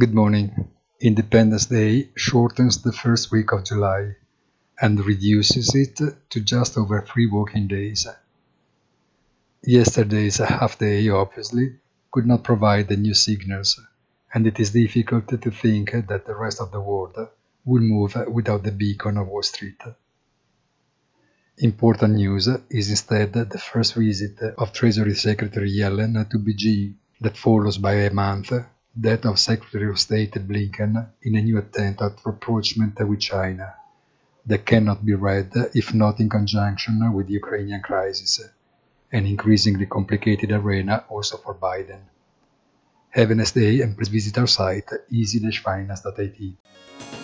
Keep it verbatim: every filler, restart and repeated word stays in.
Good morning. Independence Day shortens the first week of July and reduces it to just over three working days. Yesterday's half day, obviously, could not provide the new signals, and it is difficult to think that the rest of the world will move without the beacon of Wall Street. Important news is instead the first visit of Treasury Secretary Yellen to Beijing that follows by a month that of Secretary of State Blinken in a new attempt at rapprochement with China that cannot be read if not in conjunction with the Ukrainian crisis, an increasingly complicated arena also for Biden. Have a nice day and please visit our site easy dash finance dot I T.